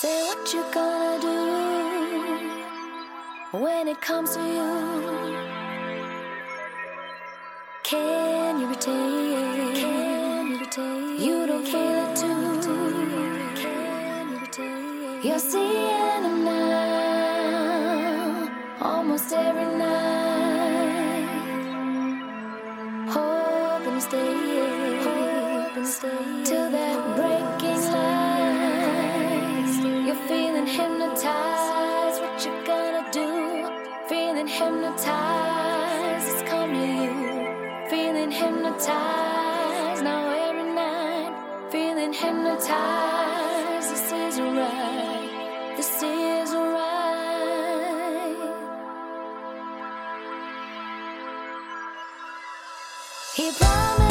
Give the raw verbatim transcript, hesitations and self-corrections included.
Say what you gonna do when it comes to you. Can you retain? Can you retain? You don't feel it too. Can you retain? You're seeing them now, almost every night. Hope and stay, hope and stay till that breaking light. You're feeling hypnotized. What you gonna do? Feeling hypnotized. It's come to you. Feeling hypnotized now every night. Feeling hypnotized. This is right. This is right. He promised.